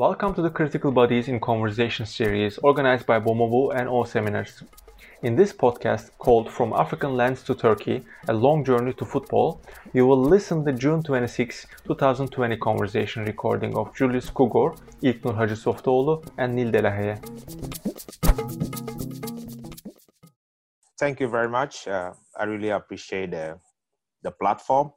Welcome to the Critical Bodies in Conversation series organized by Bomovo and O Seminars. In this podcast called From African Lands to Turkey, A Long Journey to Football, you will listen to the June 26, 2020 conversation recording of Julius Kugor, İlknur Hacı Softoğlu, and Nil Delahaye. Thank you very much. I really appreciate the platform.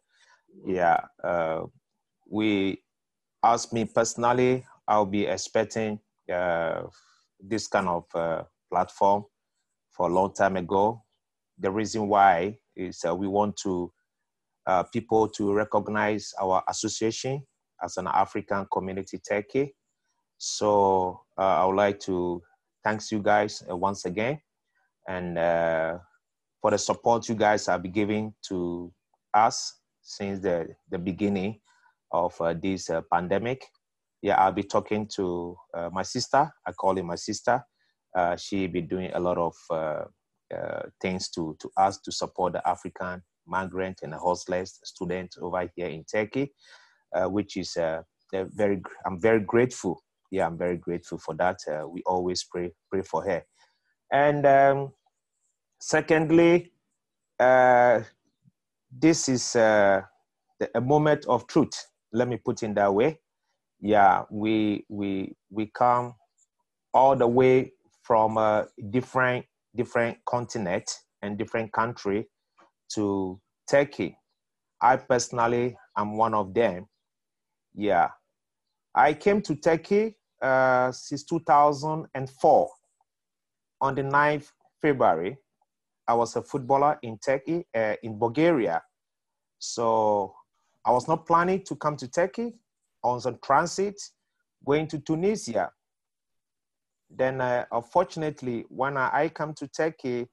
As me personally, I'll be expecting this kind of platform for a long time ago. The reason why is we want to people to recognize our association as an African community Turkey. So I would like to thank you guys once again, and for the support you guys have been giving to us since the beginning of this pandemic. I'll be talking to my sister. I call her my sister. She be doing a lot of things to us to support the African migrant and hostless students over here in Turkey, which is I'm very grateful. I'm very grateful for that. We always pray for her. And secondly, this is a moment of truth. Let me put it that way. We come all the way from a different continent and different country to Turkey. I personally am one of them. I came to Turkey since 2004. On the 9th February, I was a footballer in Turkey, in Bulgaria. So I was not planning to come to Turkey. I was on transit going to Tunisia. Then unfortunately, when I come to Turkey,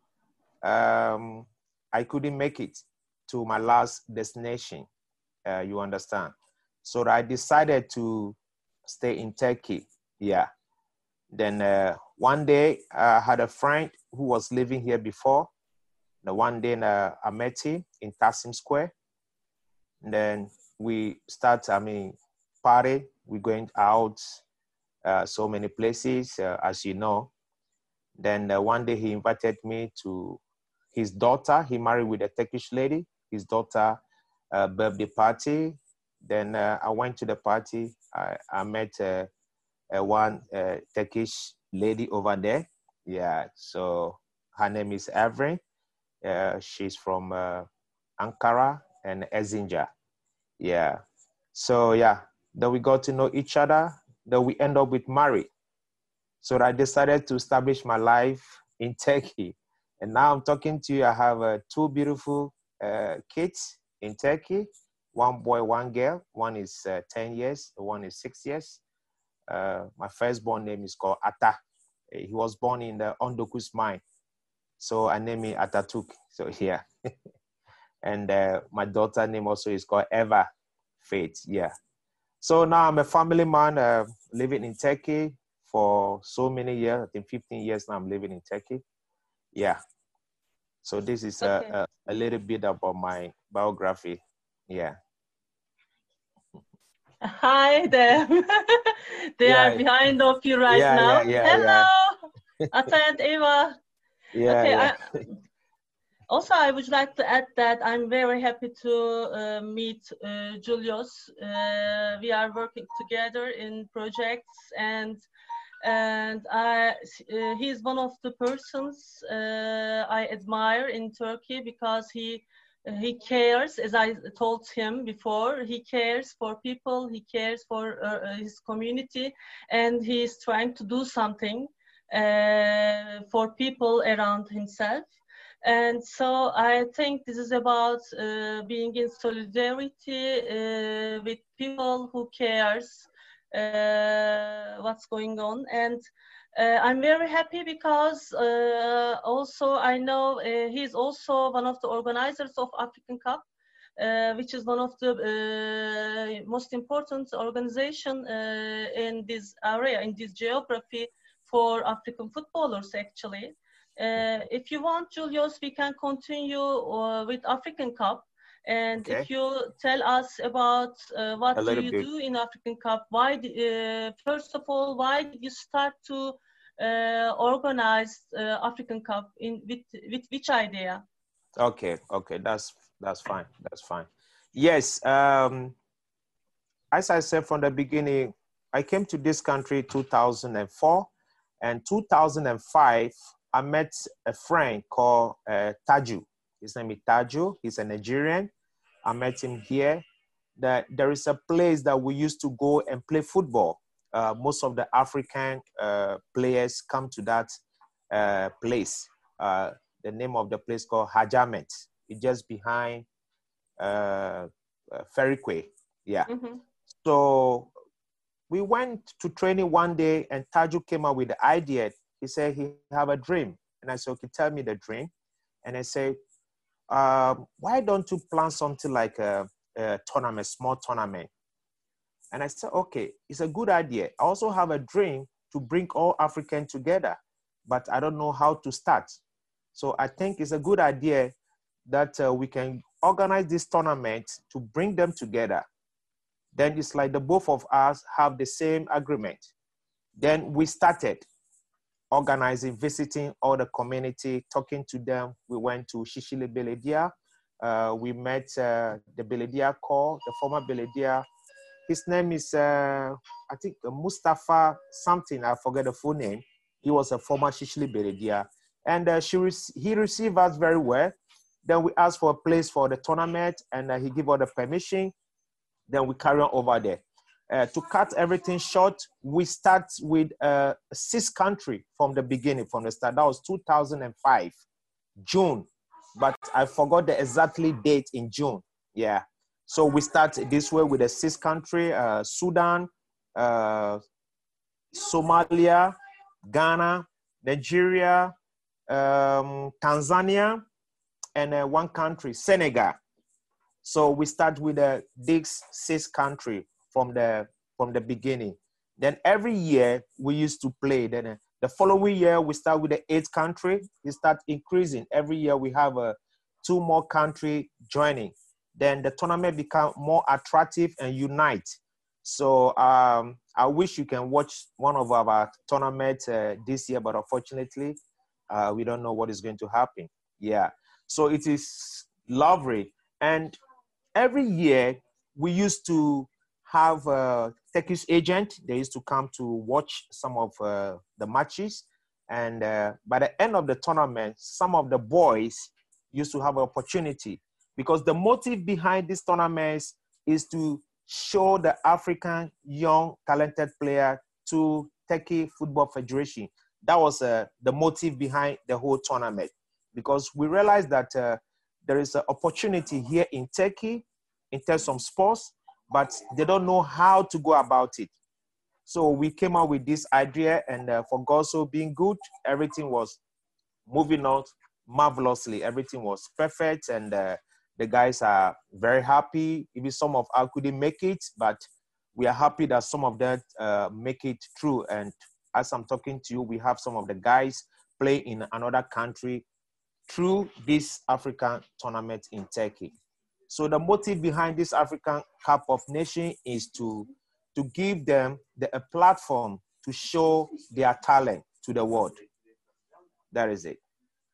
I couldn't make it to my last destination, you understand. So I decided to stay in Turkey. Then one day I had a friend who was living here before. The one day I met him in Taksim Square. And then we start, party. We're going out so many places, as you know. Then one day he invited me to his daughter. He married with a Turkish lady. His daughter birthday party. Then I went to the party. I met one Turkish lady over there. So her name is Evren. She's from Ankara and Erzincan. So then we got to know each other. Then we end up with marriage. So I decided to establish my life in Turkey. And now I'm talking to you. I have two beautiful kids in Turkey. One boy, one girl. One is 10 years. One is 6 years. My firstborn name is called Ata. He was born in the Ondokus mine. So I named him Ataturk. So and my daughter name also is called Eva Faith. So now I'm a family man living in Turkey for so many years. I think 15 years now I'm living in Turkey. So this is a little bit about my biography. Hi them. They are behind of you right now. Hello, Ata and Eva. Also, I would like to add that I'm very happy to meet Julius. We are working together in projects, and he's one of the persons I admire in Turkey because he cares, as I told him before, he cares for people, he cares for his community, and he's trying to do something for people around himself. And so I think this is about being in solidarity with people who cares what's going on. And I'm very happy because also I know he's also one of the organizers of African Cup, which is one of the most important organization in this area, in this geography for African footballers actually. If you want, Julius, we can continue with African Cup. And Okay. if you tell us about what A do little you bit. do in African Cup, why, first of all, why did you start to organize African Cup with which idea? Okay, okay, that's fine. That's fine. Yes, as I said from the beginning, I came to this country 2004, and 2005 I met a friend called Taju. His name is Taju. He's a Nigerian. I met him here. That there is a place that we used to go and play football. Most of the African players come to that place. The name of the place called Hajamet. It's just behind Ferryquay. Yeah. Mm-hmm. So we went to training one day, and Taju came up with the idea. He said he have a dream, and I said, "Okay, tell me the dream." And I said, "Why don't you plan something like a tournament, small tournament?" And I said, "Okay, it's a good idea. I also have a dream to bring all Africans together, but I don't know how to start. So I think it's a good idea that we can organize this tournament to bring them together. Then it's like the both of us have the same agreement." Then we started organizing, visiting all the community, talking to them. We went to Shishile Beledia. We met the Beledia core, the former Beledia. His name is, I think, Mustafa something. I forget the full name. He was a former Shishile Beledia. And he received us very well. Then we asked for a place for the tournament, and he gave us the permission. Then we carry on over there. To cut everything short, we start with 6 countries from the beginning, from the start. That was 2005, June. But I forgot the exactly date in June. Yeah. So we start this way with the 6 countries, Sudan, Somalia, Ghana, Nigeria, Tanzania, and one country, Senegal. So we start with these 6 countries from the beginning. Then every year we used to play. Then the following year we start with the 8th country. We start increasing. Every year we have 2 more countries joining. Then the tournament become more attractive and unite. So I wish you can watch one of our tournaments this year, but unfortunately we don't know what is going to happen. Yeah. So it is lovely. And every year we used to have a Turkish agent. They used to come to watch some of the matches. And by the end of the tournament, some of the boys used to have an opportunity, because the motive behind these tournaments is to show the African young talented player to Turkey Football Federation. That was the motive behind the whole tournament, because we realized that there is an opportunity here in Turkey in terms of sports, but they don't know how to go about it. So we came up with this idea, and for God so being good, everything was moving on marvelously. Everything was perfect, and the guys are very happy. Even some of us couldn't make it, but we are happy that some of them make it through. And as I'm talking to you, we have some of the guys play in another country through this African tournament in Turkey. So the motive behind this African Cup of Nations is to give them a platform to show their talent to the world. That is it.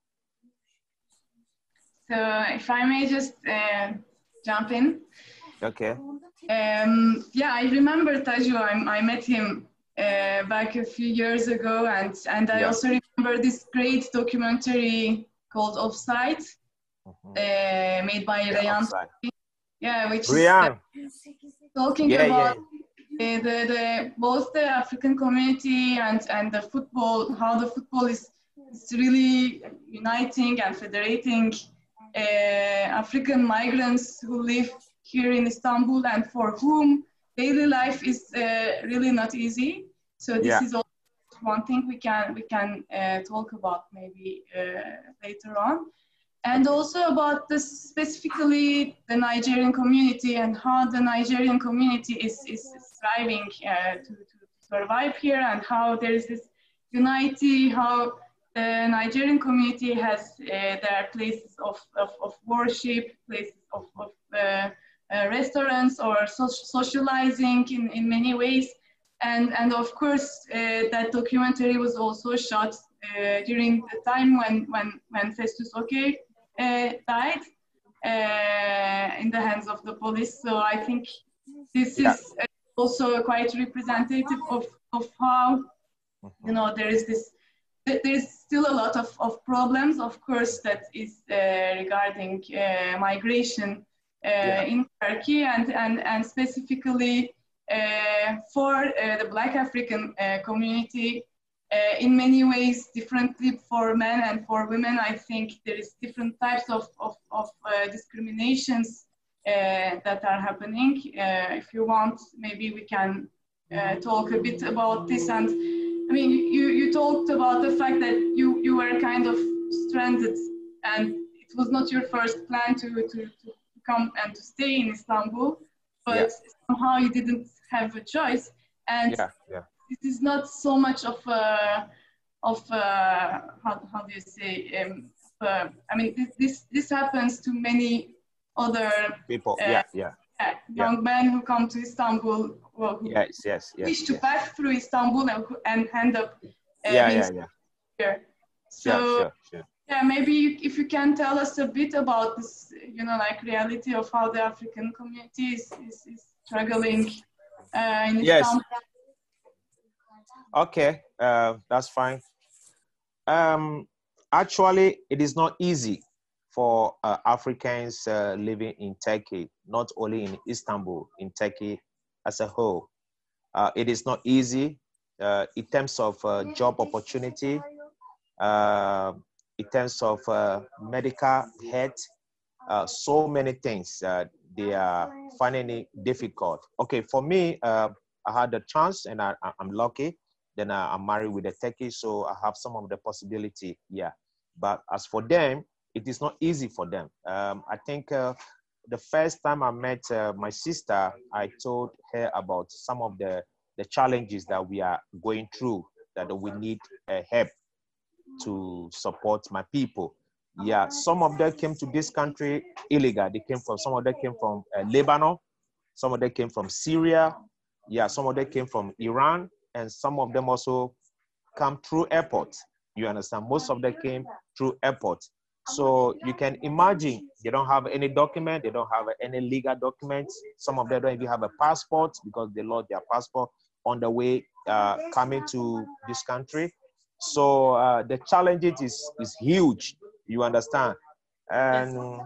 So if I may just jump in. Okay. Yeah, I remember Taju. I met him back a few years ago, and I also remember this great documentary called Offside, made by Rayan. Yeah, which Rayan. is talking about the both the African community and the football, how the football is really uniting and federating African migrants who live here in Istanbul and for whom daily life is really not easy. So this is also one thing we can talk about maybe later on. And also about specifically the Nigerian community and how the Nigerian community is striving to survive here, and how there is this unity, how the Nigerian community has their places of worship, places of restaurants or socializing in many ways. And of course, that documentary was also shot during the time when Festus Oke died in the hands of the police. So I think this is also quite representative of how, you know, there's still a lot of problems, of course, that is regarding migration in Turkey, and specifically for the Black African community. In many ways, differently for men and for women, I think there is different types of discriminations that are happening. If you want, maybe we can talk a bit about this. And I mean, you talked about the fact that you were kind of stranded, and it was not your first plan to come and to stay in Istanbul, but somehow you didn't have a choice. And this is not so much of how do you say? I mean, this happens to many other people. Young men who come to Istanbul, who wish to pass through Istanbul and end up here. So maybe if you can tell us a bit about this, you know, like reality of how the African community is struggling in Istanbul. Okay, that's fine. Actually, it is not easy for Africans living in Turkey, not only in Istanbul, in Turkey as a whole. It is not easy in terms of job opportunity, in terms of medical health, so many things. They are finding it difficult. Okay, for me, I had the chance, and I'm lucky. Then I'm married with a Turkey, so I have some of the possibility, But as for them, it is not easy for them. I think the first time I met my sister, I told her about some of the challenges that we are going through, that we need help to support my people. Some of them came to this country illegal. Some of them came from Lebanon. Some of them came from Syria. Some of them came from Iran. And some of them also come through airport. You understand? Most of them came through airport. So you can imagine they don't have any document. They don't have any legal documents. Some of them don't even have a passport because they lost their passport on the way coming to this country. So the challenge is huge. You understand? And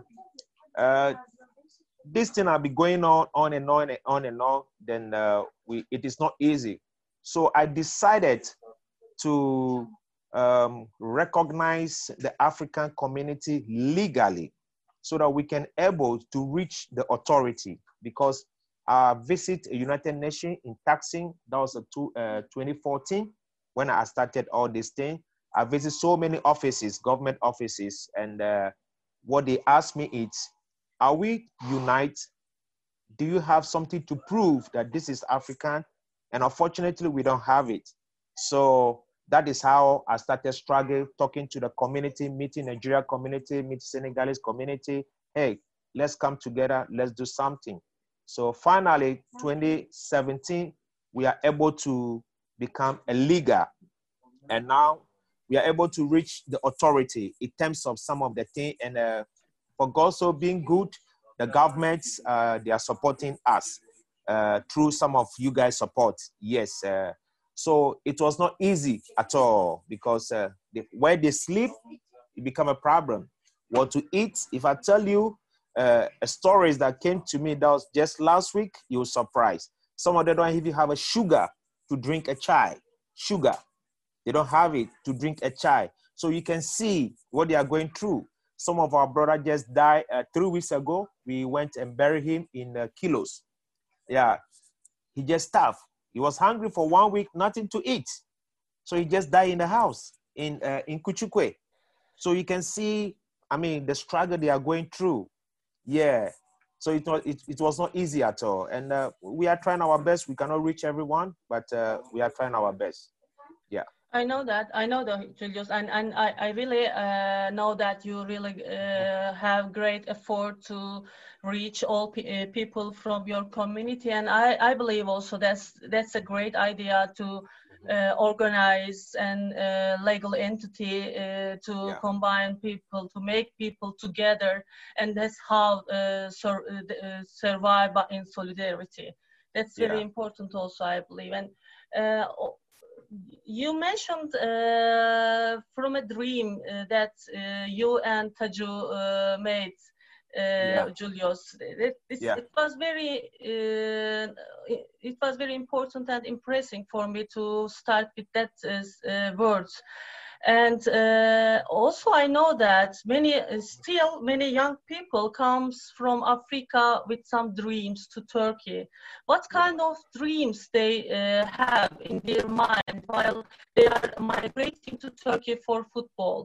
this thing will be going on and on and on and on. Then it is not easy. So I decided to recognize the African community legally so that we can able to reach the authority, because I visit a United Nations in Taksim. That was 2014 when I started all this thing. I visit so many offices, government offices, and what they asked me is, are we united? Do you have something to prove that this is African? And unfortunately, we don't have it. So that is how I started struggling, talking to the community, meeting Nigeria community, meeting Senegalese community. Hey, let's come together, let's do something. So finally, 2017, we are able to become a league. And now we are able to reach the authority in terms of some of the things. And for God so being good, the governments, they are supporting us. Through some of you guys' support, yes. So it was not easy at all, because where they sleep, it become a problem. What to eat? If I tell you stories that came to me that was just last week, you're surprised. Some of them don't even have a sugar to drink a chai. Sugar, they don't have it to drink a chai. So you can see what they are going through. Some of our brother just died 3 weeks ago. We went and buried him in Kilos. He just starved. He was hungry for 1 week, nothing to eat. So he just died in the house in Kuchukwe. So you can see, I mean, the struggle they are going through. So it was not easy at all. And we are trying our best. We cannot reach everyone, but we are trying our best. I know that. I know that, Julius, and I really know that you really have great effort to reach all people from your community, and I believe also that's a great idea to organize an legal entity to combine people, to make people together, and that's how survive in solidarity. That's very important also, I believe. And you mentioned from a dream that you and Taju made, Julius. It was very it was very important and impressive for me to start with that words. And also I know that many young people comes from Africa with some dreams to Turkey. What kind of dreams they have in their mind while they are migrating to Turkey for football?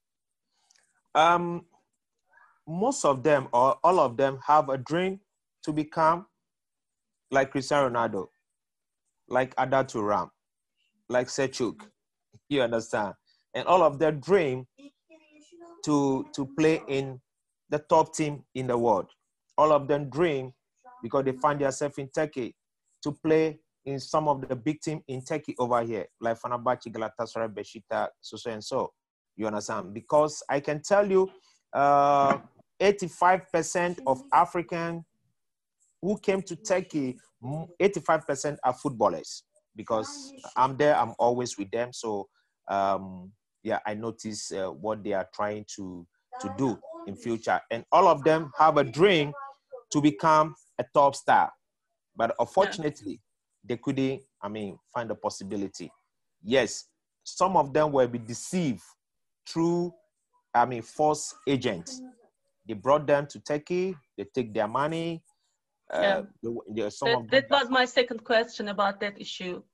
Most of them or all of them have a dream to become like Cristiano Ronaldo, like Ada Turam, like Selçuk. You understand? And all of their dream to play in the top team in the world. All of them dream, because they find themselves in Turkey, to play in some of the big team in Turkey over here, like Fenerbahce, Galatasaray, Beşiktaş, so and so. You understand? Because I can tell you, 85% of African who came to Turkey, 85% are footballers. Because I'm there, I'm always with them. So I notice what they are trying to do in future. And all of them have a dream to become a top star. But unfortunately, they couldn't, find the possibility. Yes, some of them will be deceived through, false agents. They brought them to Turkey, they take their money. That was my second question about that issue.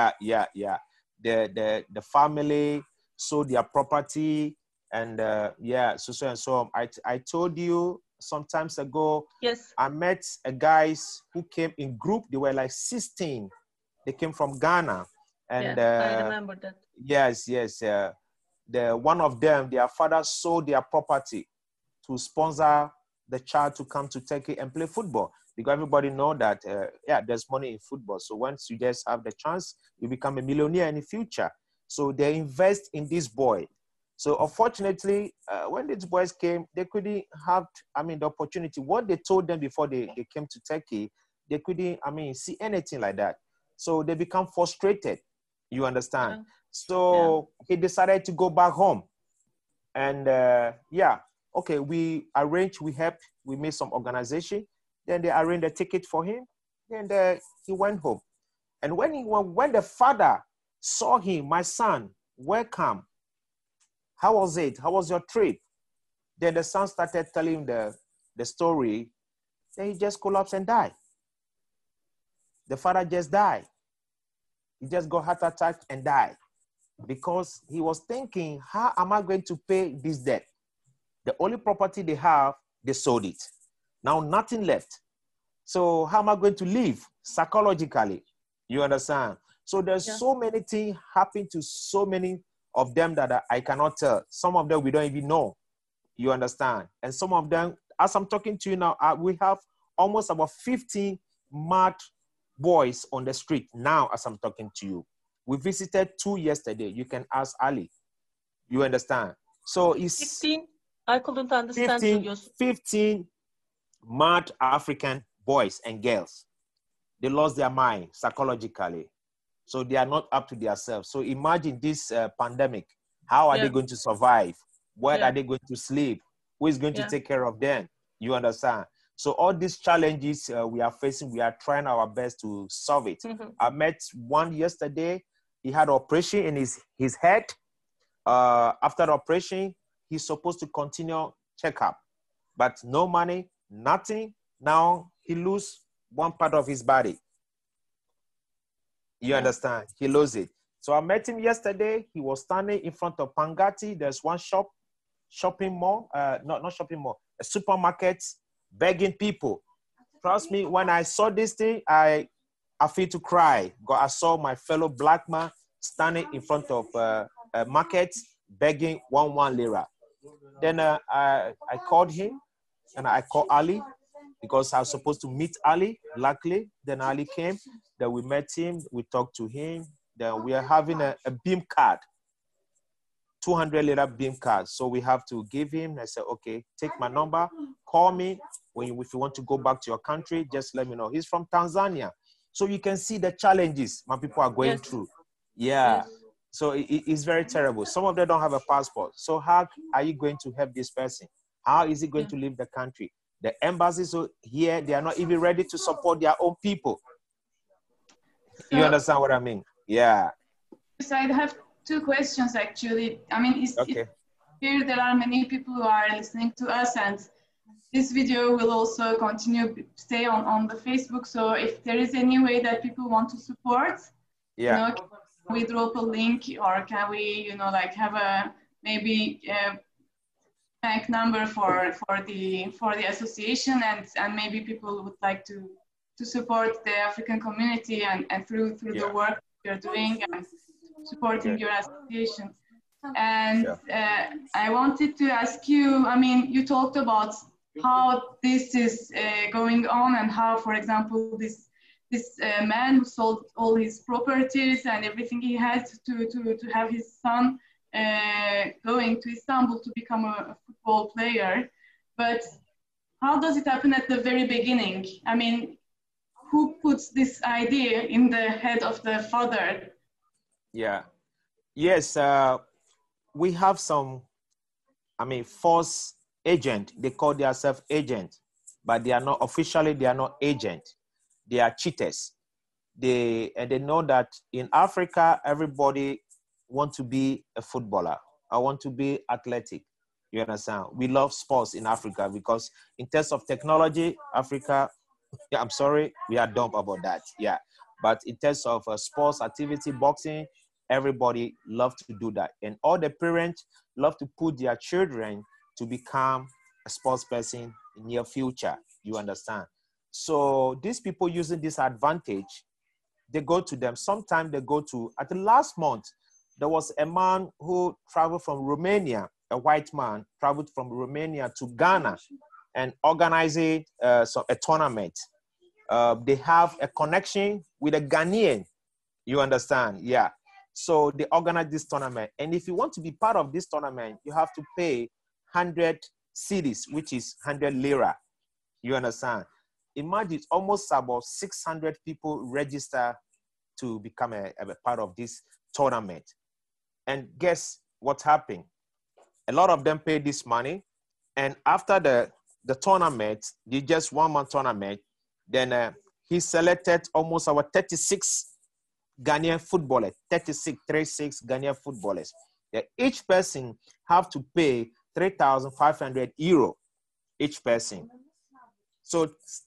The family sold their property, and so and so. I told you some times ago. Yes. I met guys who came in group. They were like 16. They came from Ghana, and I remember that. Yes. The one of them, their father sold their property to sponsor the child to come to Turkey and play football. Because everybody know that, there's money in football. So once you just have the chance, you become a millionaire in the future. So they invest in this boy. So unfortunately, when these boys came, they couldn't have, the opportunity. What they told them before they came to Turkey, they couldn't, see anything like that. So they become frustrated. You understand? Yeah. So he decided to go back home. And we arranged, we helped, we made some organization. Then they arranged a ticket for him, and he went home. And when the father saw him, my son, welcome. How was it? How was your trip? Then the son started telling the story. Then he just collapsed and died. The father just died. He just got heart attack and died because he was thinking, how am I going to pay this debt? The only property they have, they sold it. Now nothing left. So how am I going to live psychologically? You understand? So there's so many things happen to so many of them that I cannot tell. Some of them we don't even know. You understand? And some of them, as I'm talking to you now, we have almost about 15 mad boys on the street now as I'm talking to you. We visited 2 yesterday. You can ask Ali. You understand? So it's 15. I couldn't understand. 15 mad African boys and girls. They lost their mind psychologically. So they are not up to themselves. So imagine this pandemic. How are they going to survive? Where are they going to sleep? Who is going to take care of them? You understand? So all these challenges we are facing, we are trying our best to solve it. Mm-hmm. I met one yesterday. He had an operation in his head. After the operation, he's supposed to continue checkup, but no money, nothing. Now he lose one part of his body. You understand? He lose it. So I met him yesterday. He was standing in front of Pangati. There's one shopping mall, not shopping mall, a supermarket, begging people. Trust me, when I saw this thing, I feel to cry. God, I saw my fellow black man standing in front of a market begging one lira. Then I called him, and I called Ali because I was supposed to meet Ali. Luckily, then Ali came. Then we met him. We talked to him. Then we are having a beam card, 200 lira beam card. So we have to give him. I said, okay, take my number, call me if you want to go back to your country. Just let me know. He's from Tanzania, so you can see the challenges my people are going through. Yeah. Yes. So it's very terrible. Some of them don't have a passport. So how are you going to help this person? How is he going to leave the country? The embassies here, they are not even ready to support their own people. So, you understand what I mean? Yeah. So I have two questions actually. I mean, here there are many people who are listening to us, and this video will also stay on the Facebook. So if there is any way that people want to support, can we drop a link, or can we, like have a bank number for the association, and maybe people would like to support the African community and through the work you're doing and supporting your association. And I wanted to ask you, I mean, you talked about how this is going on, and how, for example, this man who sold all his properties and everything he had to have his son going to Istanbul to become a football player. But how does it happen at the very beginning? I mean, who puts this idea in the head of the father? Yeah. Yes, we have some, false agent. They call themselves agent, but they are not officially, they are not agent. They are cheaters. They know that in Africa, everybody wants to be a footballer. I want to be athletic. You understand? We love sports in Africa because in terms of technology, Africa, I'm sorry, we are dumb about that. Yeah. But in terms of sports activity, boxing, everybody loves to do that. And all the parents love to put their children to become a sports person in near future. You understand? So these people using this advantage, they go to them. Sometimes they go to, at the last month, there was a man who traveled from Romania, a white man traveled from Romania to Ghana and organized a tournament. They have a connection with a Ghanaian. You understand? Yeah. So they organize this tournament. And if you want to be part of this tournament, you have to pay 100 cedis, which is 100 lira. You understand? Imagine almost about 600 people register to become a part of this tournament. And guess what happened? A lot of them paid this money. And after the tournament, the just 1 month tournament, then he selected almost our 36 Ghanaian footballers, 36 Ghanaian footballers. Each person have to pay 3,500 euro, each person. So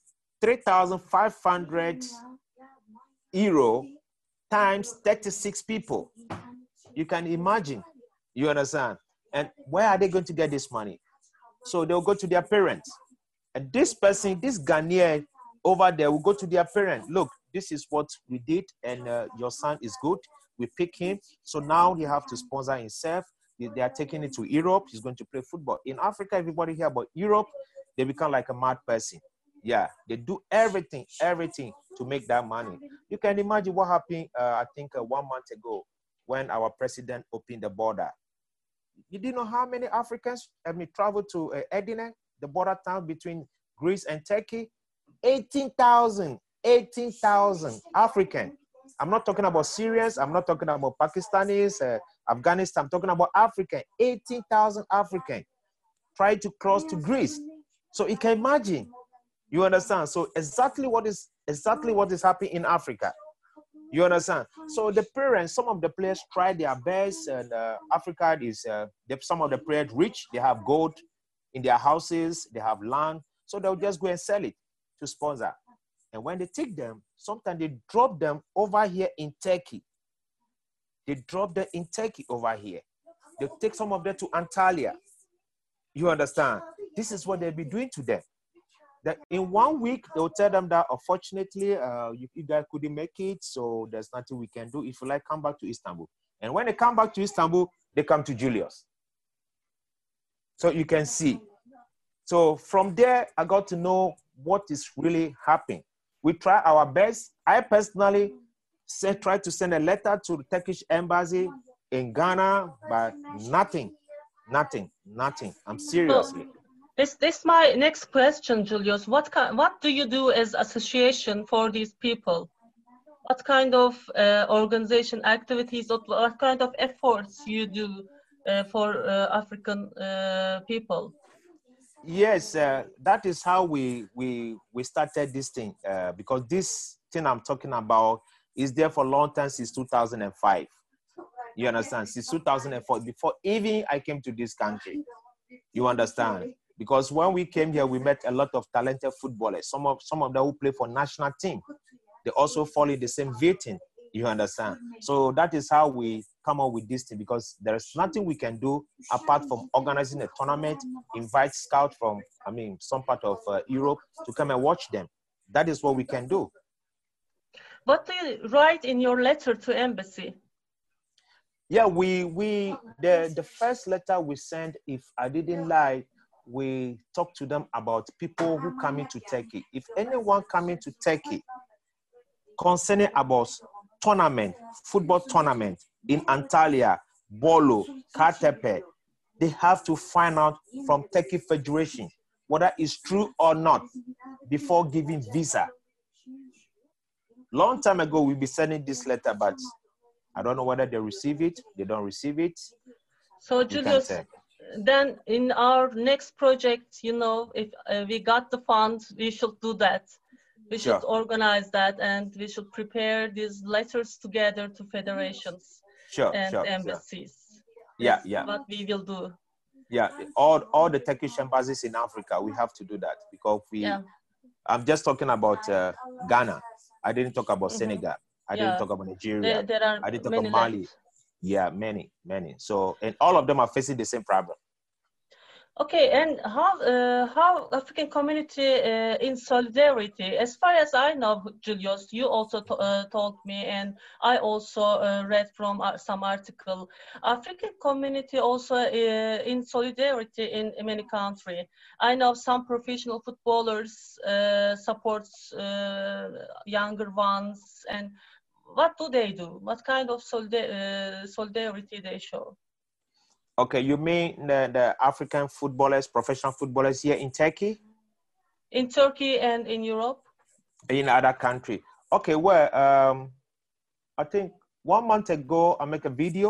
3,500 euro times 36 people. You can imagine, you understand? And where are they going to get this money? So they'll go to their parents. And this person, this Ghanaian over there will go to their parents. Look, this is what we did, and your son is good. We pick him. So now he have to sponsor himself. They are taking it to Europe. He's going to play football. In Africa, everybody hear about Europe, they become like a mad person. Yeah, they do everything to make that money. You can imagine what happened, I think 1 month ago when our president opened the border. You didn't know how many Africans traveled to Edirne, the border town between Greece and Turkey. 18,000 African. I'm not talking about Syrians. I'm not talking about Pakistanis, Afghanistan. I'm talking about African. 18,000 African tried to cross to Greece. So you can imagine. You understand? So exactly what is happening in Africa. You understand? So the parents, some of the players try their best, and Africa is some of the players rich. They have gold in their houses. They have land, so they'll just go and sell it to sponsor. And when they take them, sometimes they drop them over here in Turkey. They drop them in Turkey over here. They take some of them to Antalya. You understand? This is what they'll be doing to them. that in 1 week, they'll tell them that unfortunately, you guys couldn't make it, so there's nothing we can do. If you like, come back to Istanbul. And when they come back to Istanbul, they come to Julius. So you can see. So from there, I got to know what is really happening. We try our best. I personally tried to send a letter to the Turkish embassy in Ghana, but nothing. I'm seriously. This my next question, Julius. What do you do as association for these people? What kind of organization activities, what kind of efforts you do for African people? Yes, that is how we started this thing, because this thing I'm talking about is there for a long time, since 2005. You understand? Since 2004, before even I came to this country. You understand? Because when we came here, we met a lot of talented footballers. Some of them who play for national team. They also fall in the same vein. You understand? So that is how we come up with this thing, because there is nothing we can do apart from organizing a tournament, invite scouts from, some part of Europe to come and watch them. That is what we can do. What do you write in your letter to embassy? Yeah, the first letter we sent, if I didn't lie, we talked to them about people who come into Turkey. If anyone coming to Turkey concerning about tournament, football tournament in Antalya, Bolu, Kartepe, they have to find out from Turkey Federation whether it's true or not before giving visa. Long time ago, we'll be sending this letter, but I don't know whether they receive it, they don't receive it. So Julius, then in our next project, if we got the funds, we should do that. We should organize that, and we should prepare these letters together to federations and embassies. Yeah. What we will do. Yeah, all the Turkish embassies in Africa, we have to do that, because I'm just talking about Ghana. I didn't talk about Senegal. I didn't talk about Nigeria. I didn't talk about Mali. Yeah, many. So, and all of them are facing the same problem. Okay, and how African community in solidarity? As far as I know, Julius, you also told me, and I also read from some article. African community also in solidarity in many countries. I know some professional footballers supports younger ones, and what do they do? What kind of solidarity they show? Okay, you mean the African footballers, professional footballers here in Turkey? In Turkey and in Europe? In other countries. Okay, well, I think 1 month ago, I make a video.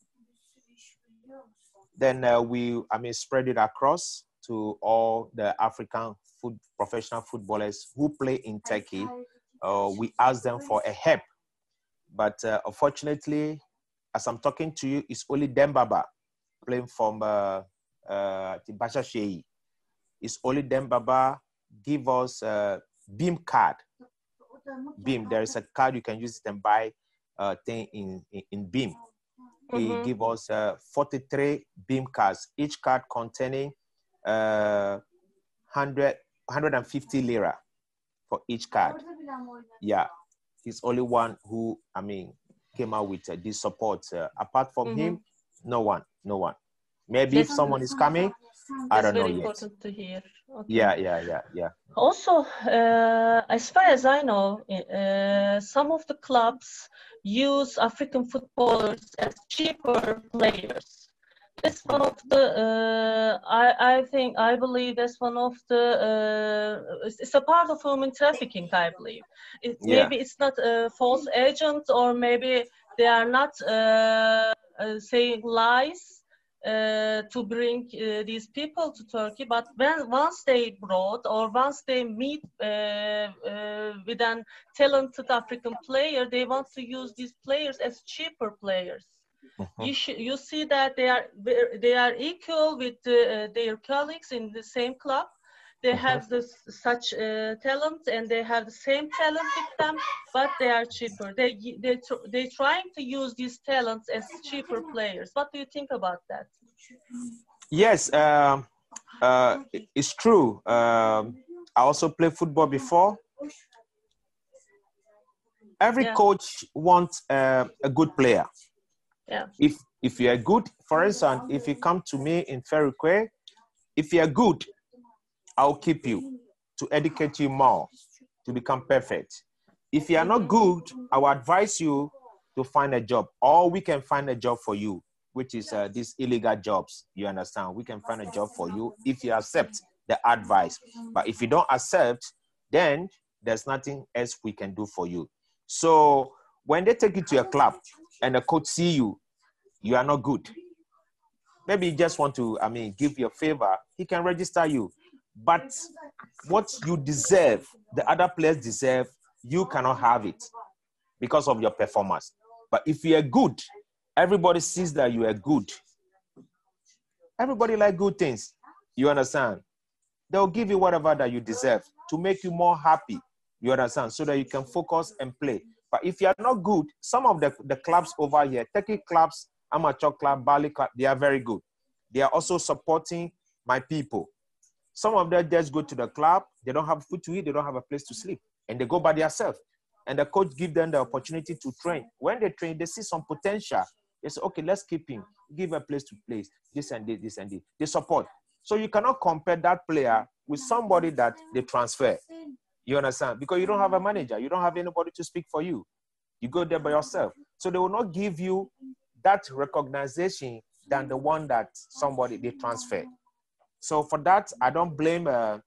Then we spread it across to all the African professional footballers who play in Turkey. We asked them for a help. But unfortunately, as I'm talking to you, it's only Dembaba playing from Bashashei. It's only Dembaba give us a Beam card. Beam, there is a card you can use it and buy thing in Beam. He give us 43 Beam cards, each card containing 150 lira for each card. Yeah, he's only one who came out with this support. Apart from him, no one. Maybe if someone is coming, I don't know yet. That's very important to hear. Okay. Yeah. Also, as far as I know, some of the clubs use African footballers as cheaper players. That's one of the, I believe that's one of the, it's a part of human trafficking, I believe. Maybe it's not a false agent, or maybe they are not saying lies to bring these people to Turkey, but once they brought, or once they meet with an talented African player, they want to use these players as cheaper players. You see that they are equal with their colleagues in the same club. They have such talent, and they have the same talent with them, but they are cheaper. They're trying to use these talents as cheaper players. What do you think about that? Yes, it's true. I also played football before. Every coach wants a good player. Yeah. If you are good, for instance, if you come to me in Ferroque, if you are good, I'll keep you to educate you more to become perfect. If you are not good, I will advise you to find a job, or we can find a job for you, which is these illegal jobs. You understand? We can find a job for you if you accept the advice. But if you don't accept, then there's nothing else we can do for you. So when they take you to a club and the coach see you, you are not good. Maybe you just want to, give you a favor. He can register you. But what you deserve, the other players deserve, you cannot have it because of your performance. But if you are good, everybody sees that you are good. Everybody like good things. You understand? They'll give you whatever that you deserve to make you more happy. You understand? So that you can focus and play. But if you are not good, some of the clubs over here, Turkey clubs, amateur club, Bali club, they are very good. They are also supporting my people. Some of them just go to the club, they don't have food to eat, they don't have a place to sleep, and they go by themselves. And the coach gives them the opportunity to train. When they train, they see some potential. They say, okay, let's keep him, give a place to play, this and this, this and this. They support. So you cannot compare that player with somebody that they transfer. You understand? Because you don't have a manager. You don't have anybody to speak for you. You go there by yourself. So they will not give you that recognition than the one that somebody they transfer. So for that, I don't blame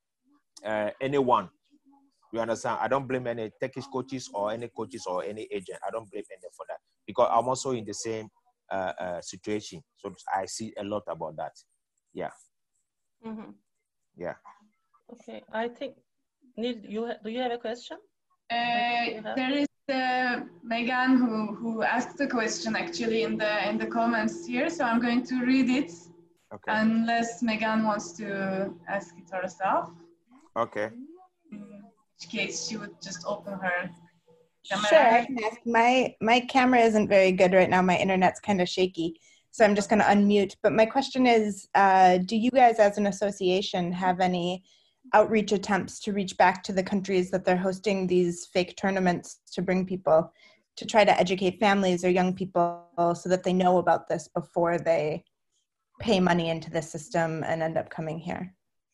anyone. You understand? I don't blame any Turkish coaches or any agent. I don't blame any for that because I'm also in the same situation. So I see a lot about that. Yeah. Mm-hmm. Yeah. Okay. I think, Nil, do you have a question? There is Megan who asked the question actually in the comments here. So I'm going to read it. Okay. Unless Megan wants to ask it herself. Okay. In which case she would just open her camera. Sure, I can ask. My camera isn't very good right now. My internet's kind of shaky. So I'm just going to unmute. But my question is, do you guys as an association have any outreach attempts to reach back to the countries that they're hosting these fake tournaments to bring people to try to educate families or young people so that they know about this before they pay money into the system and end up coming here?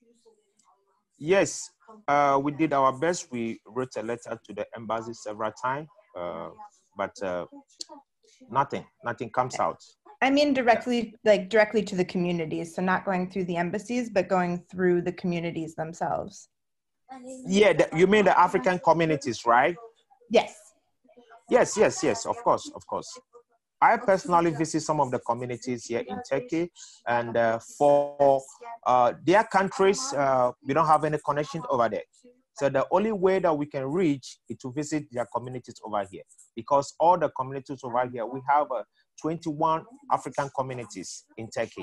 Yes, we did our best. We wrote a letter to the embassy several times, but nothing comes out. I mean directly, like directly to the communities. So not going through the embassies, but going through the communities themselves. Yeah, you mean the African communities, right? Yes. Yes, of course. I personally visit some of the communities here in Turkey, and for their countries, we don't have any connection over there. So the only way that we can reach is to visit their communities over here, because all the communities over here, we have 21 African communities in Turkey.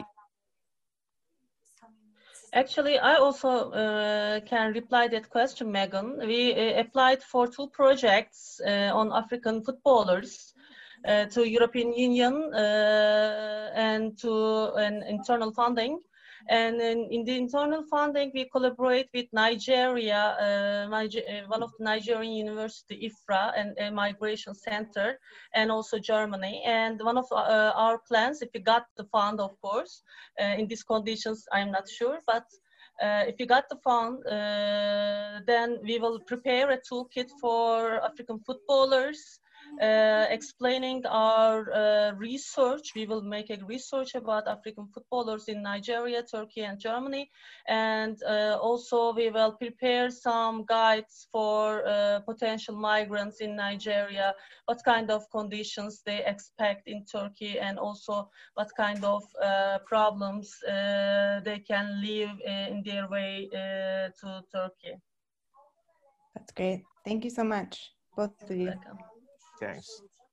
Actually, I also can reply that question, Megan. We applied for 2 projects on African footballers to European Union and to an internal funding. And in the internal funding, we collaborate with Nigeria, one of the Nigerian university, IFRA, and a migration center, and also Germany. And one of our plans, if we got the fund, of course, in these conditions, I'm not sure, but if we got the fund, then we will prepare a toolkit for African footballers, explaining our research. We will make a research about African footballers in Nigeria, Turkey, and Germany. And also we will prepare some guides for potential migrants in Nigeria, what kind of conditions they expect in Turkey, and also what kind of problems they can live in their way to Turkey. That's great. Thank you so much, both of you. Welcome. Thanks.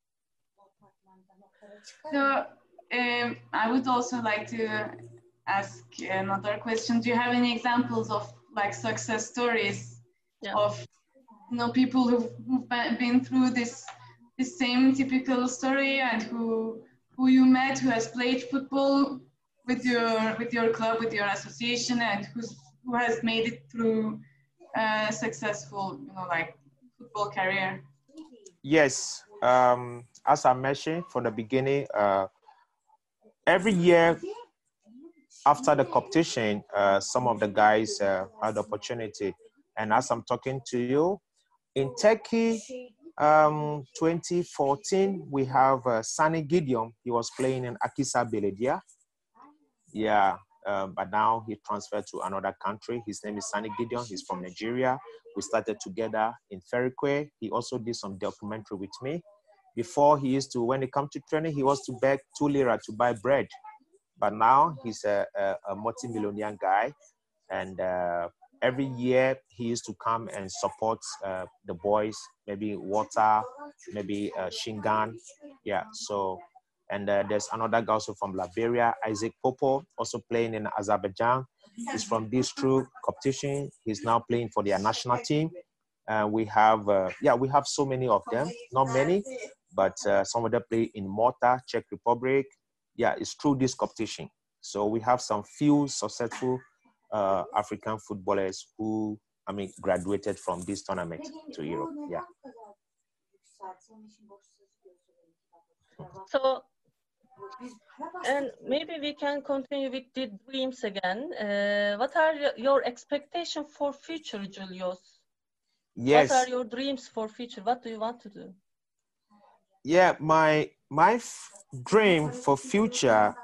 So I would also like to ask another question. Do you have any examples of like success stories of people who've been through this same typical story, and who you met, who has played football with your club, with your association, and who has made it through successful, like football career? Yes, as I mentioned from the beginning, every year after the competition, some of the guys had the opportunity. And as I'm talking to you, in Turkey, 2014, we have Sani Gideon. He was playing in Akisa Belediye. Yeah, but now he transferred to another country. His name is Sani Gideon. He's from Nigeria. We started together in Ferikwe. He also did some documentary with me. Before, he used to, when it comes to training, he was to beg 2 lira to buy bread. But now he's a multi-millionaire guy. And every year he used to come and support the boys, maybe water, maybe Shingan. Yeah, so, and there's another guy also from Liberia, Isaac Popo, also playing in Azerbaijan. He's from this true competition. He's now playing for their national team. We have so many of them, not many, but some of them play in Malta, Czech Republic. Yeah, it's through this competition. So we have some few successful African footballers who, graduated from this tournament to Europe. Yeah. So, and maybe we can continue with the dreams again. What are your expectations for future, Julius? Yes. What are your dreams for future? What do you want to do? Yeah, my dream for future,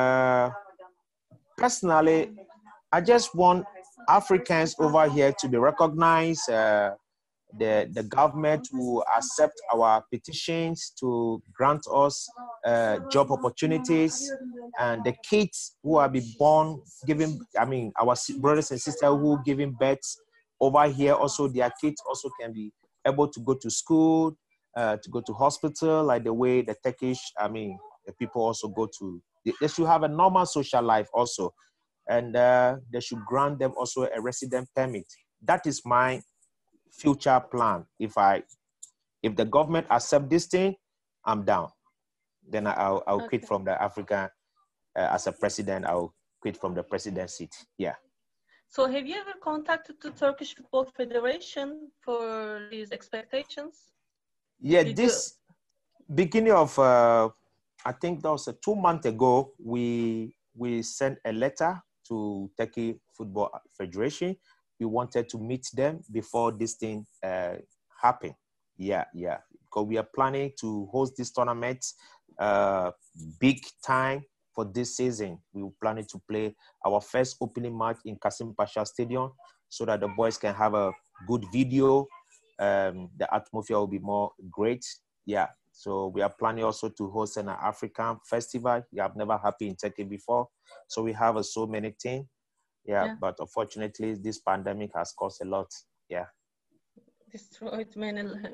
personally, I just want Africans over here to be recognized. The government will accept our petitions to grant us job opportunities, and the kids who are be born, our brothers and sisters who giving birth over here, also their kids also can be able to go to school, to go to hospital, like the way the Turkish, the people also go to. They should have a normal social life also, and they should grant them also a resident permit. That is my future plan. If the government accept this thing, I'm down. Then I'll quit from the African as a president. I'll quit from the president seat. Yeah. So have you ever contacted the Turkish Football Federation for these expectations? Yeah, this beginning of I think that was 2 months ago, we sent a letter to Turkey Football Federation. We wanted to meet them before this thing happened. Yeah. Because we are planning to host this tournament big time for this season. We were planning to play our first opening match in Kasim Pasha Stadium so that the boys can have a good video. The atmosphere will be more great. Yeah. So we are planning also to host an African festival. We have never happened in Turkey before. So we have so many things. Yeah, but unfortunately, this pandemic has caused a lot. Yeah. Destroyed many lives.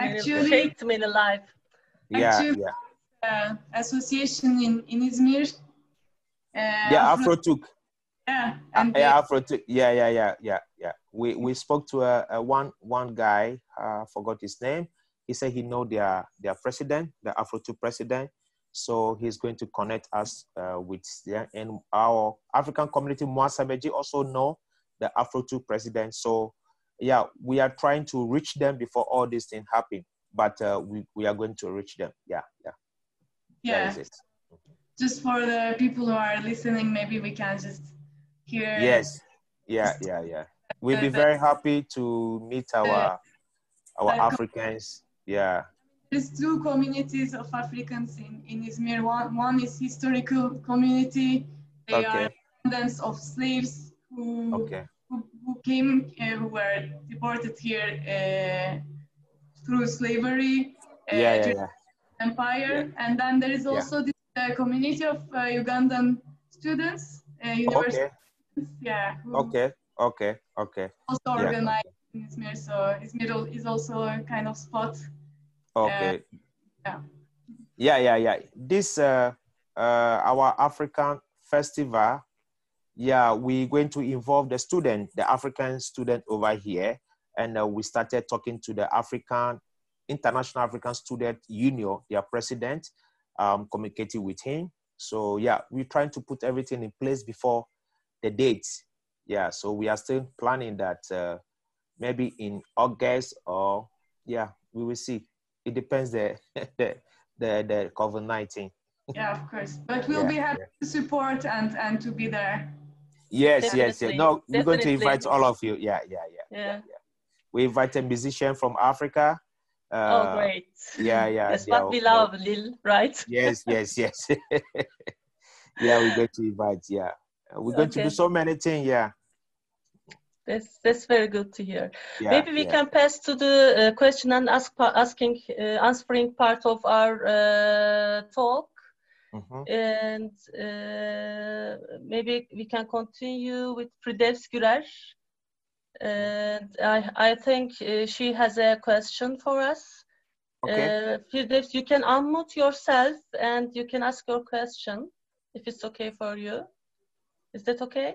Association in Izmir. Afrotuk. Yeah. Afrotuk. Yeah. We spoke to one guy. I forgot his name. He said he know their president, the Afrotuk president. So he's going to connect us with them. And our African community, Muasabeji, also know the Afro2 president. So yeah, we are trying to reach them before all these things happen. But we are going to reach them. Yeah. That is it. Just for the people who are listening, maybe we can just hear. Yes. Yeah. We'll be very happy to meet our Africans. Yeah. There's 2 communities of Africans in Izmir. One is historical community. They are descendants of slaves who came, who were deported here through slavery, empire. And then there is also this community of Ugandan students, university students. Yeah. Okay. Also organized in Izmir. So Izmir is also a kind of spot. Okay. Yeah. This our African festival. Yeah, we're going to involve the African student over here, and we started talking to the International African Student Union, their president, communicating with him. So yeah, we're trying to put everything in place before the dates. Yeah, so we are still planning that maybe in August, or yeah, we will see. It depends the the COVID-19. Yeah, of course. But we'll be happy to support and to be there. Yes, yes. No, we're going to Definitely. invite all of you. Yeah. We invite a musician from Africa. Oh, great. Yeah. That's what we love, Lil, right? Yes. Yeah, we're going to invite. Yeah, we're going to do so many things. Yeah. That's very good to hear. Yeah, maybe we can pass to the question and answering part of our talk. And maybe we can continue with Firdevs Gürer. And I think she has a question for us. Okay. Firdevs, you can unmute yourself and you can ask your question if it's okay for you. Is that okay?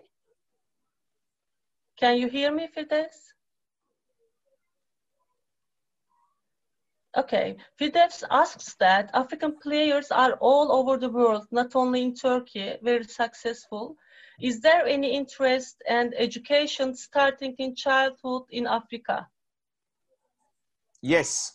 Can you hear me, Firdevs? Okay. Firdevs asks that African players are all over the world, not only in Turkey, very successful. Is there any interest and education starting in childhood in Africa? Yes.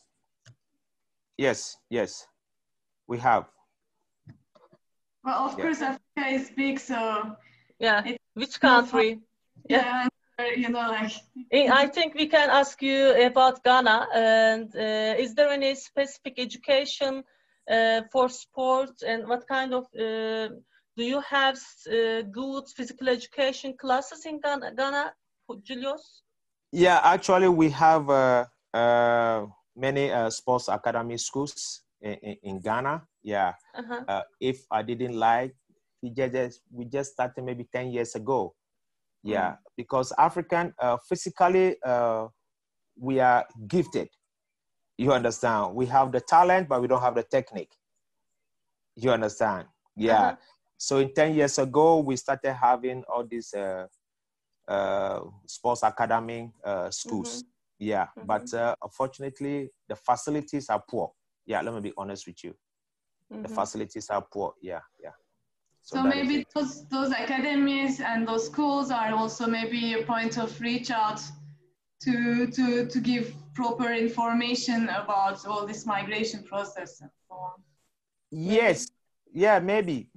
We have. Well, of course, Africa is big, so yeah. Which country? Yeah, you know, like. I think we can ask you about Ghana. And is there any specific education for sports, and what kind of do you have good physical education classes in Ghana, Julius? Yeah, actually, we have many sports academy schools in Ghana. Yeah. If I didn't like, we just started maybe 10 years ago. Yeah, because African physically we are gifted. You understand? We have the talent, but we don't have the technique. You understand? Yeah. So in 10 years ago, we started having all these sports academy schools. Yeah, but unfortunately, the facilities are poor. Yeah, let me be honest with you. The facilities are poor. Yeah. So maybe those academies and those schools are also maybe a point of reach out to give proper information about all this migration process and so on. Yes. Yeah, maybe.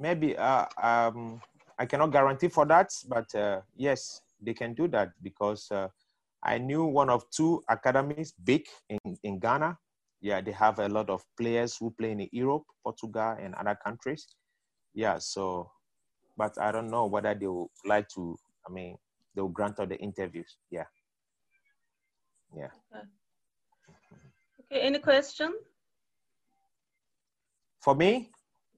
I cannot guarantee for that, but yes, they can do that, because I knew one of two academies big in Ghana. Yeah, they have a lot of players who play in Europe, Portugal, and other countries. Yeah, so, but I don't know whether they would like to, they will grant all the interviews. Yeah. Okay, any question? For me?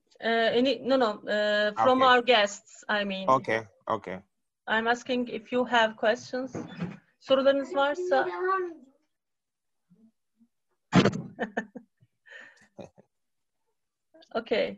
From our guests, I mean. Okay. I'm asking if you have questions. Sorularınız varsa. Okay.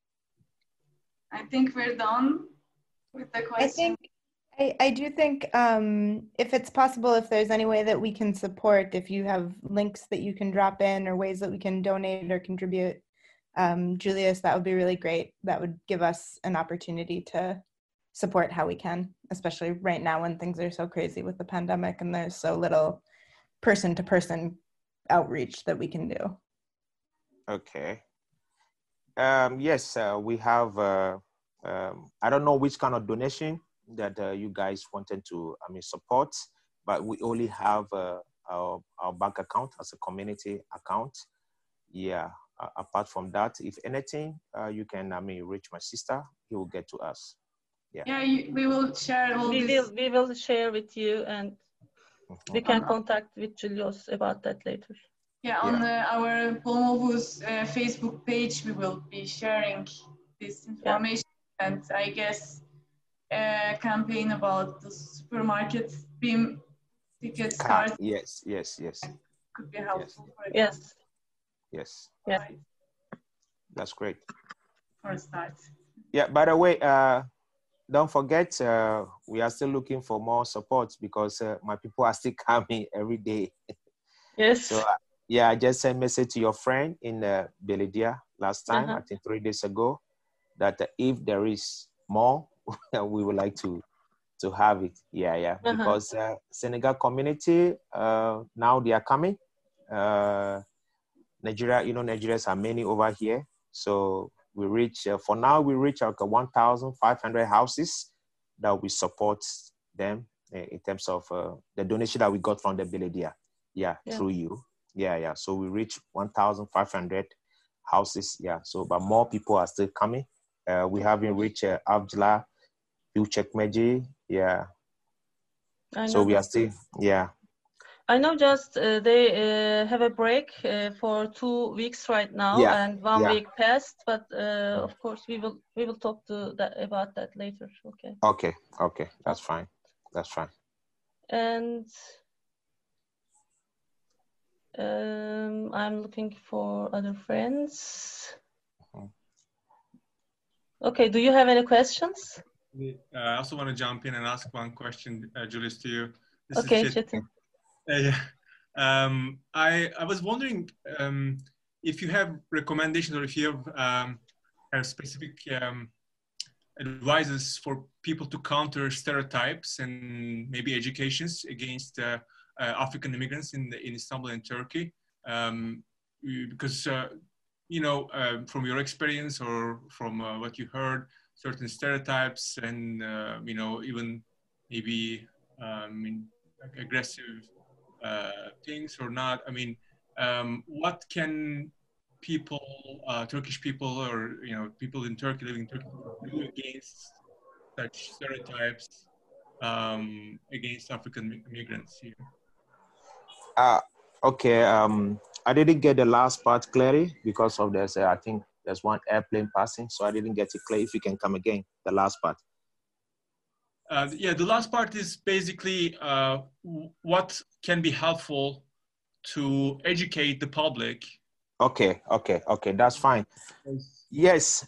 I think we're done with the question. I do think if it's possible, if there's any way that we can support, if you have links that you can drop in or ways that we can donate or contribute, Julius, that would be really great. That would give us an opportunity to support how we can, especially right now when things are so crazy with the pandemic and there's so little person-to-person outreach that we can do. Okay. Yes, we have, I don't know which kind of donation that you guys wanted to support, but we only have our bank account as a community account. Yeah, apart from that, if anything, you can reach my sister. He will get to us. Yeah, we will share all this. We will share with you, and we can contact with Julius about that later. Yeah, on our Bomovu's Facebook page, we will be sharing this information, and I guess a campaign about the supermarket BIM ticket start. Yes. Could be helpful. Yes. That's great. For a start. Yeah, by the way, don't forget, we are still looking for more support, because my people are still coming every day. Yes. So, I just sent a message to your friend in Beledia last time, I think 3 days ago, that if there is more, we would like to to have it. Yeah. Because Senegal community, now they are coming. Nigeria, Nigerians are many over here. So we reach, for now, we reach like 1,500 houses that we support them in terms of the donation that we got from the Beledia. Yeah, through you. Yeah. So we reach 1,500 houses. Yeah. So, but more people are still coming. We haven't reached Avjla, Uchekmeji. Yeah. So we are still, yeah. I know just they have a break for 2 weeks right now, and 1 week passed. But of course, we will talk about that later. Okay. Okay. That's fine. And I'm looking for other friends. Okay. Do you have any questions? I also want to jump in and ask one question, Julius, to you. This is Çetin. I was wondering if you have recommendations or if you have specific advices for people to counter stereotypes and maybe educations against African immigrants in Istanbul and Turkey, because from your experience or from what you heard, certain stereotypes and even maybe aggressive things or not. I mean, what can people, Turkish people, or people in Turkey living in Turkey, do against such stereotypes against African immigrants here? Okay. I didn't get the last part clearly because of this. I think there's one airplane passing, so I didn't get it clear. If you can come again, the last part. The last part is basically what can be helpful to educate the public. Okay, that's fine. Yes.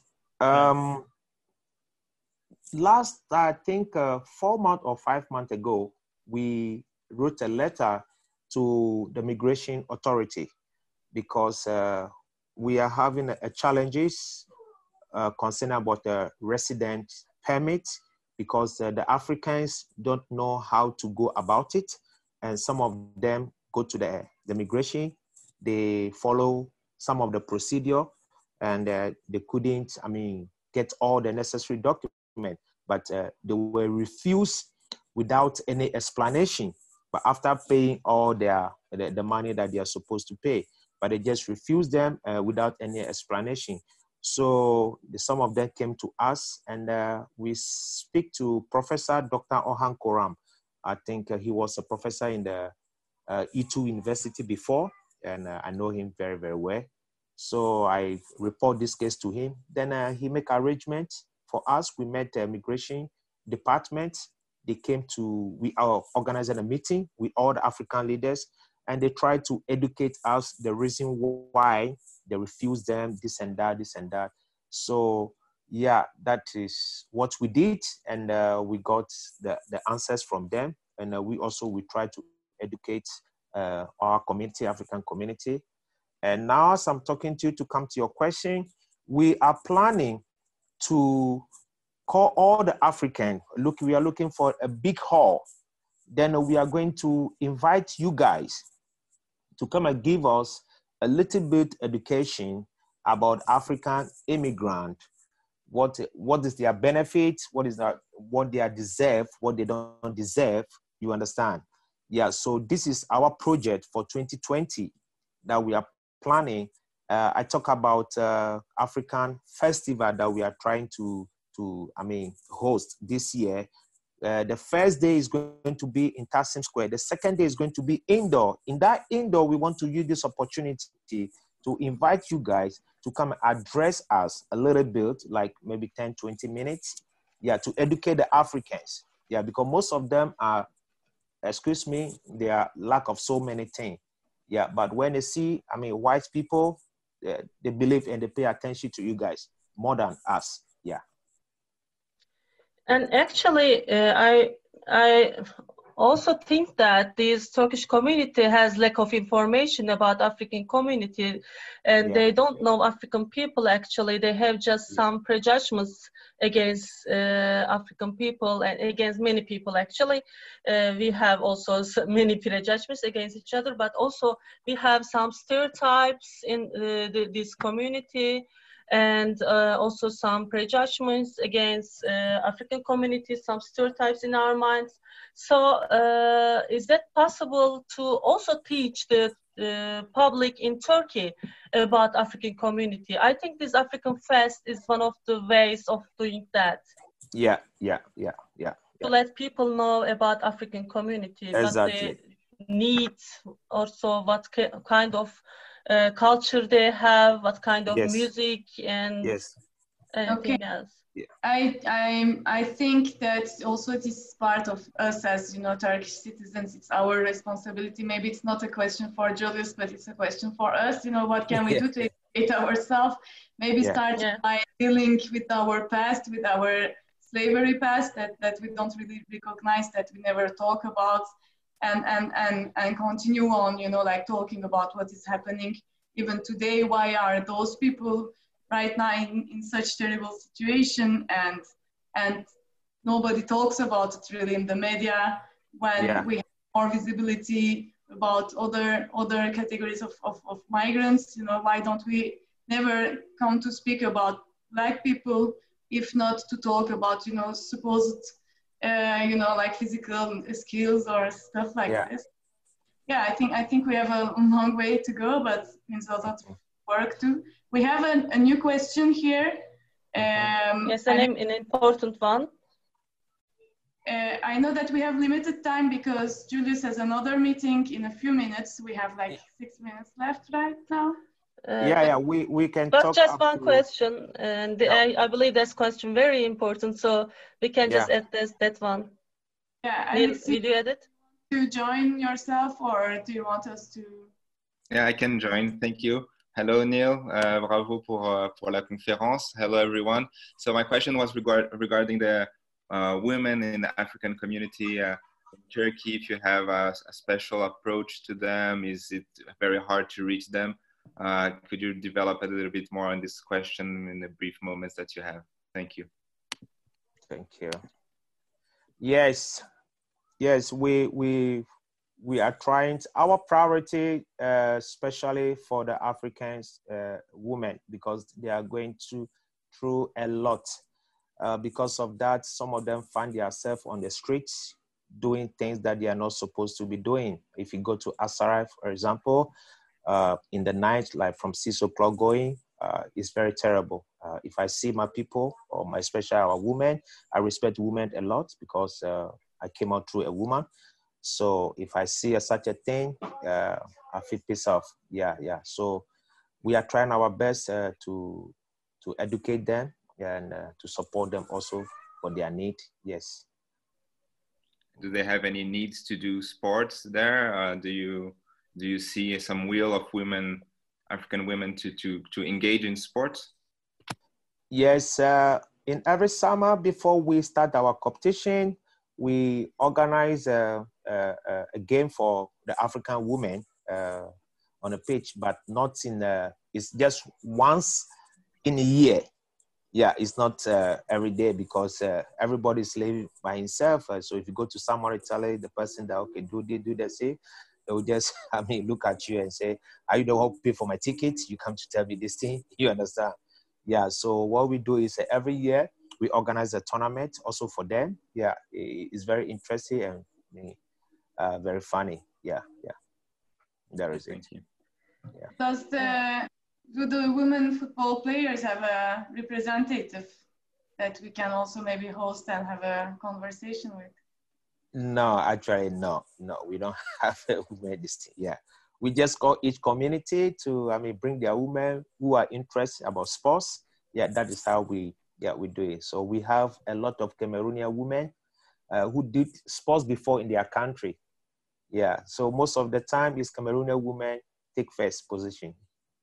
Last, I think 4 months or 5 months ago, we wrote a letter to the Migration Authority because we are having challenges concerning about the resident permit, because the Africans don't know how to go about it. And some of them go to the migration, they follow some of the procedure and they couldn't, get all the necessary documents, but they were refused without any explanation. But after paying all the money that they are supposed to pay, but they just refused them without any explanation. So some of them came to us, and we speak to Professor Dr. Orhan Koram. I think he was a professor in the E2 University before, and I know him very, very well. So I report this case to him. Then he make arrangements for us. We met the immigration department. They came to, we are organizing a meeting with all the African leaders, and they tried to educate us the reason why they refused them, this and that. So yeah, that is what we did, and we got the answers from them, and we try to educate our community, African community. And now, as I'm talking to you, to come to your question, we are planning to call all the African. Look, we are looking for a big hall. Then we are going to invite you guys to come and give us a little bit education about African immigrant. What is their benefit? What they deserve? What they don't deserve? You understand? Yeah. So this is our project for 2020 that we are planning. I talk about African festival that we are trying to host this year. The first day is going to be in Taksim Square. The second day is going to be indoor. In that indoor, we want to use this opportunity to invite you guys to come and address us a little bit, like maybe 10, 20 minutes. Yeah, to educate the Africans. Yeah, because most of them are, they are lack of so many things. Yeah, but when they see, white people, they believe and they pay attention to you guys more than us. Yeah. And actually, also think that this Turkish community has lack of information about African community, and they don't know African people. Actually, they have just some prejudgments against African people and against many people. Actually, we have also many prejudgments against each other, but also we have some stereotypes in this community, and also some prejudgments against African communities, some stereotypes in our minds. So is that possible to also teach the public in Turkey about African community? I think this African Fest is one of the ways of doing that. Yeah. To let people know about African community, exactly. what they need, also what kind of culture they have, what kind of music, and anything else. I think that also this is part of us as, you know, Turkish citizens. It's our responsibility. Maybe it's not a question for Julius, but it's a question for us. You know, what can we do to educate ourselves? Maybe start by dealing with our past, with our slavery past that we don't really recognize, that we never talk about, and continue on, you know, like talking about what is happening even today. Why are those people right now in such terrible situation, and nobody talks about it really in the media, when we have more visibility about other categories of migrants? You know, why don't we never come to speak about Black people, if not to talk about, you know, supposed you know, like physical skills or stuff like this? Yeah, I think we have a long way to go, but it means a lot of work too. We have a new question here. Yes, an important one. I know that we have limited time because Julius has another meeting in a few minutes. We have like 6 minutes left right now. We can but talk just one question, and I believe this question very important, so we can just add that one. Will you add it? To join yourself, or do you want us to? Yeah, I can join. Thank you. Hello, Neil. Bravo pour la conférence. Hello, everyone. So my question was regarding the women in the African community in Turkey. If you have a special approach to them, is it very hard to reach them? Could you develop a little bit more on this question in the brief moments that you have? Thank you. Thank you. Yes, we are trying. Our priority, especially for the Africans women, because they are going through a lot. Because of that, some of them find themselves on the streets doing things that they are not supposed to be doing. If you go to Asaraf, for example, in the night, like from 6 o'clock going, it's very terrible. If I see my people, or especially our women, I respect women a lot because I came out through a woman. So if I see such a thing, I feel pissed off. Yeah. So we are trying our best to educate them and to support them also for their need. Yes. Do they have any needs to do sports there? Do you see some will of women, African women, to engage in sports? Yes. In every summer before we start our competition, we organize a game for the African women on a pitch, but not in it's just once in a year. Yeah, it's not every day because everybody's living by himself. So if you go to someone, tell the person that, okay, do this, they will just, look at you and say, are you the one who pay for my ticket? You come to tell me this thing? You understand? Yeah, so what we do is every year, we organize a tournament also for them. Yeah, it's very interesting and very funny. Yeah. There is it. Yeah. Do the women football players have a representative that we can also maybe host and have a conversation with? No, actually, no, we don't have a women this thing. Yeah, we just call each community to, bring their women who are interested about sports. Yeah, that is how we do it. So we have a lot of Cameroonian women who did sports before in their country. Yeah, so most of the time is Cameroonian women take first position.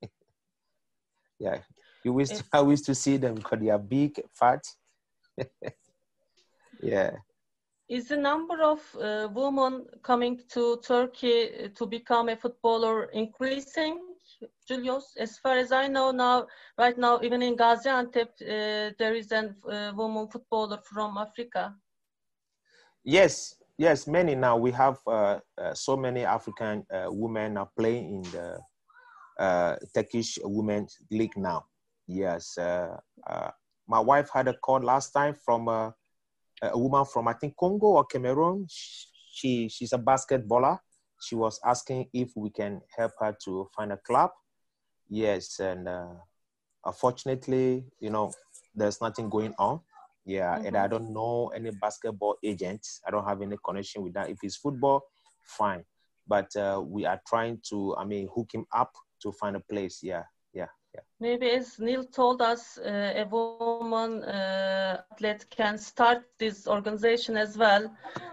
Yeah, I wish to see them because they are big, fat. Yeah. is the number of women coming to Turkey to become a footballer increasing, Julius? As far as I know now, right now, even in Gaziantep, there is a woman footballer from Africa. Yes, yes, many now. We have so many African women are playing in the Turkish Women's League now. Yes, my wife had a call last time from a woman from, I think, Congo or Cameroon. She's a basketballer. She was asking if we can help her to find a club. Yes, and unfortunately, you know, there's nothing going on. Yeah, and I don't know any basketball agents. I don't have any connection with that. If it's football, fine. But we are trying to, hook him up to find a place. Yeah. Maybe as Neil told us, a woman athlete can start this organization as well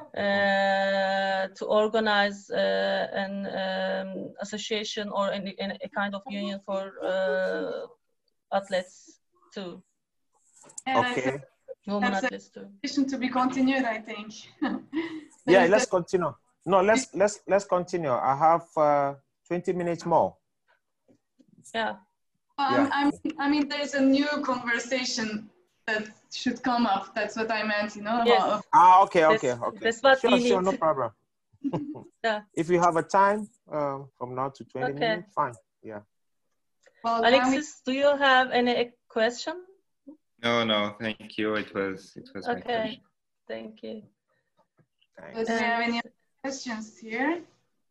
to organize an association or a kind of union for athletes too. Okay. Women athletes too. To be continued, I think. Yeah, let's continue. No, let's continue. I have 20 minutes more. Yeah. I mean, there's a new conversation that should come up. That's what I meant, you know. Yes. Okay. That's what we need. Sure, no problem. Yeah. If you have a time from now to 20 minutes, fine. Yeah. Well, Alexis, do you have any question? No, thank you. It was my Okay, question. thank you. Do we have any questions here?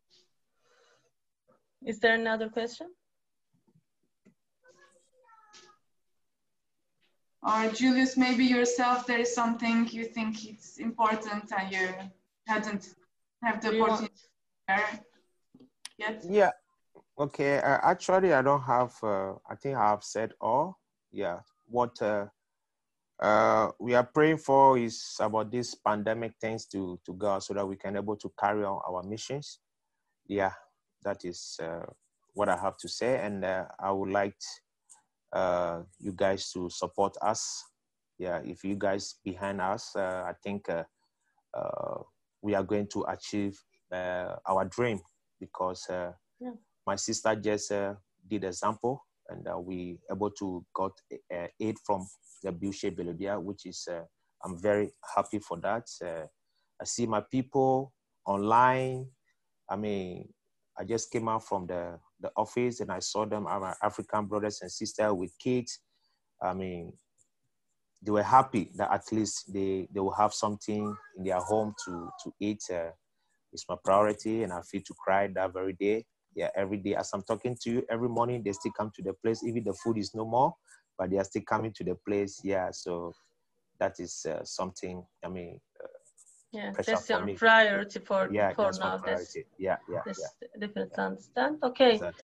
Is there another question? Or Julius, maybe yourself, there is something you think it's important and you hadn't have the opportunity to share yet? Yeah. Okay. Actually, I don't have. I think I have said all. Yeah. What we are praying for is about this pandemic things to go so that we can able to carry on our missions. Yeah, that is what I have to say, and I would like you guys to support us. Yeah, if you guys behind us, I think we are going to achieve our dream, because my sister just did example, and we able to got aid from the Bilshe Belodia, which is I'm very happy for that. I see my people online. I just came out from the office and I saw them, our African brothers and sisters with kids. They were happy that at least they will have something in their home to eat. It's my priority, and I feel to cry that very day. Yeah, every day as I'm talking to you, every morning they still come to the place. Even the food is no more, but they are still coming to the place. Yeah, so that is something. Yeah, that's your priority for that's now. My priority. Yeah. That's definitely understand. Okay, exactly.